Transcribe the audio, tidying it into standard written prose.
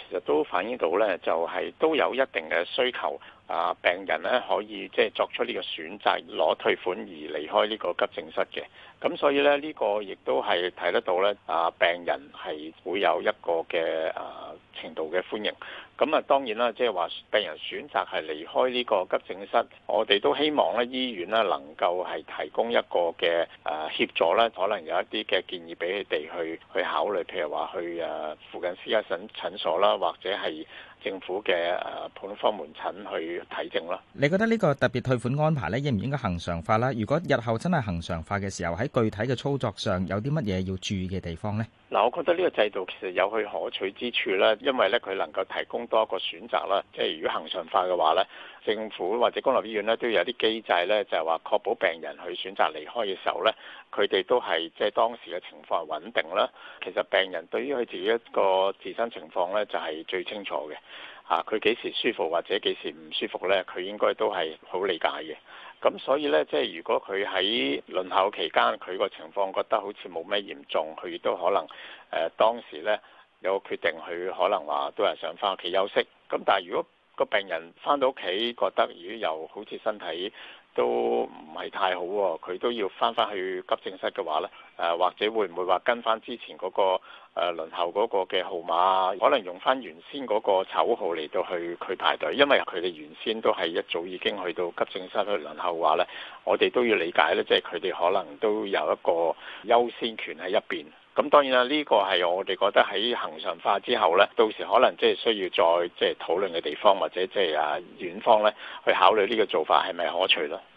其實都反映到咧，就係都有一定嘅需求。病人咧可以即係作出呢個選擇，攞退款而離開呢個急症室嘅。咁所以咧呢個亦都係睇得到咧，病人係會有一個嘅程度嘅歡迎。咁當然啦，即係話病人選擇係離開呢個急症室，我哋都希望咧醫院咧能夠係提供一個嘅協助咧，可能有一啲嘅建議俾佢哋去考慮，譬如話去附近私家診所啦，或者係政府嘅普通科門診去睇症啦。 你覺得呢個特別退款安排咧，應唔應該恆常化啦？如果日後真係恆常化嘅時候，喺具體嘅操作上有啲乜嘢要注意嘅地方呢？ 嗱，我覺得呢個制度其實有佢可取之處啦，因為咧佢能夠提供多一個選擇啦。即係如果恆常化嘅話咧，政府或者公立醫院咧都有啲機制咧，就係話確保病人去選擇離開嘅時候咧，佢哋都係即係當時嘅情況係穩定啦。其實病人對於佢自己一個自身情況咧就係最清楚嘅。佢幾時舒服或者幾時唔舒服咧，佢應該都係好理解嘅。咁所以咧，即係如果佢喺輪候期間，佢個情況覺得好似冇咩嚴重，佢亦都可能當時咧有個決定，佢可能話都係想翻屋企休息。咁但係如果個病人翻到屋企覺得如果又好似身體都唔係太好喎，佢都要翻去急症室嘅話咧，或者會唔會話跟翻之前嗰個輪候嗰個嘅號碼，可能用翻原先嗰個籌號嚟到去排隊，因為佢哋原先都係一早已經去到急症室去輪候嘅話咧，我哋都要理解咧，即係佢哋可能都有一個優先權喺一邊。咁當然啦，呢個係我哋覺得喺恆常化之後咧，到時可能即係需要再即係討論嘅地方，或者即係院方咧去考慮呢個做法係咪可取咯。